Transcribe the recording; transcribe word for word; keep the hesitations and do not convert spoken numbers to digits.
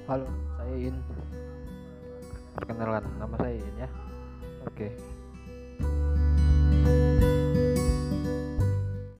Halo, saya In. Perkenalkan, nama saya In ya. Oke.